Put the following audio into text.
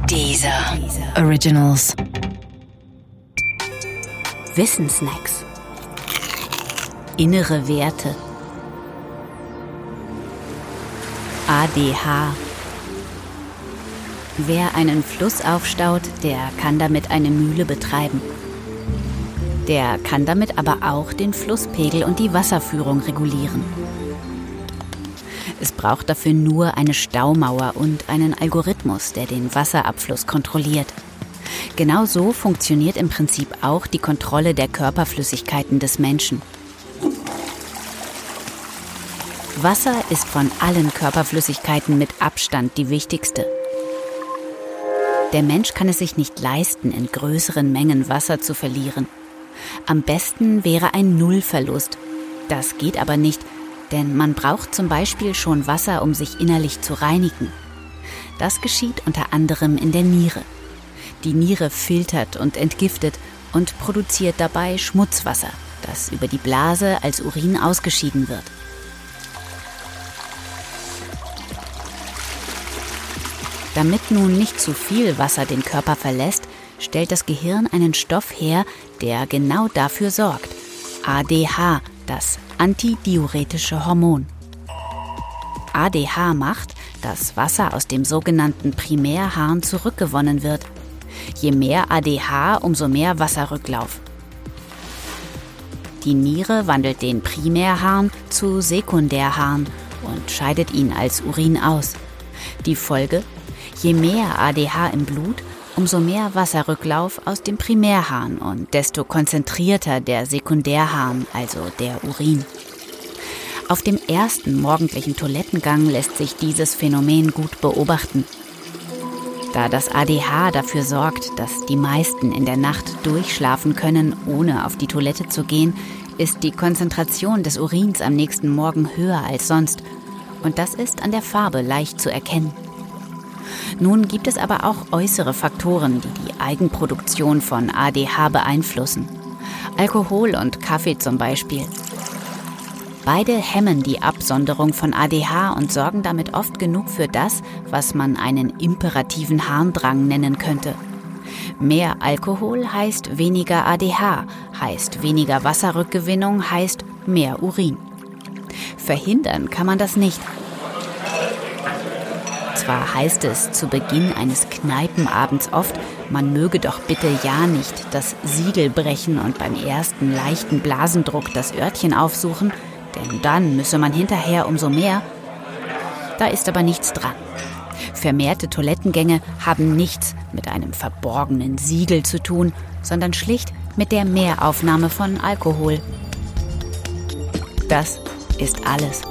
Deezer Originals. Wissensnacks. Innere Werte. ADH. Wer einen Fluss aufstaut, der kann damit eine Mühle betreiben. Der kann damit aber auch den Flusspegel und die Wasserführung regulieren. Es braucht dafür nur eine Staumauer und einen Algorithmus, der den Wasserabfluss kontrolliert. Genau so funktioniert im Prinzip auch die Kontrolle der Körperflüssigkeiten des Menschen. Wasser ist von allen Körperflüssigkeiten mit Abstand die wichtigste. Der Mensch kann es sich nicht leisten, in größeren Mengen Wasser zu verlieren. Am besten wäre ein Nullverlust. Das geht aber nicht, denn man braucht zum Beispiel schon Wasser, um sich innerlich zu reinigen. Das geschieht unter anderem in der Niere. Die Niere filtert und entgiftet und produziert dabei Schmutzwasser, das über die Blase als Urin ausgeschieden wird. Damit nun nicht zu viel Wasser den Körper verlässt, stellt das Gehirn einen Stoff her, der genau dafür sorgt. ADH, das antidiuretische Hormon. ADH macht, dass Wasser aus dem sogenannten Primärharn zurückgewonnen wird. Je mehr ADH, umso mehr Wasserrücklauf. Die Niere wandelt den Primärharn zu Sekundärharn und scheidet ihn als Urin aus. Die Folge: je mehr ADH im Blut, umso mehr Wasserrücklauf aus dem Primärharn und desto konzentrierter der Sekundärharn, also der Urin. Auf dem ersten morgendlichen Toilettengang lässt sich dieses Phänomen gut beobachten. Da das ADH dafür sorgt, dass die meisten in der Nacht durchschlafen können, ohne auf die Toilette zu gehen, ist die Konzentration des Urins am nächsten Morgen höher als sonst. Und das ist an der Farbe leicht zu erkennen. Nun gibt es aber auch äußere Faktoren, die die Eigenproduktion von ADH beeinflussen. Alkohol und Kaffee zum Beispiel. Beide hemmen die Absonderung von ADH und sorgen damit oft genug für das, was man einen imperativen Harndrang nennen könnte. Mehr Alkohol heißt weniger ADH, heißt weniger Wasserrückgewinnung, heißt mehr Urin. Verhindern kann man das nicht. Zwar heißt es zu Beginn eines Kneipenabends oft, man möge doch bitte ja nicht das Siegel brechen und beim ersten leichten Blasendruck das Örtchen aufsuchen, denn dann müsse man hinterher umso mehr. Da ist aber nichts dran. Vermehrte Toilettengänge haben nichts mit einem verborgenen Siegel zu tun, sondern schlicht mit der Mehraufnahme von Alkohol. Das ist alles.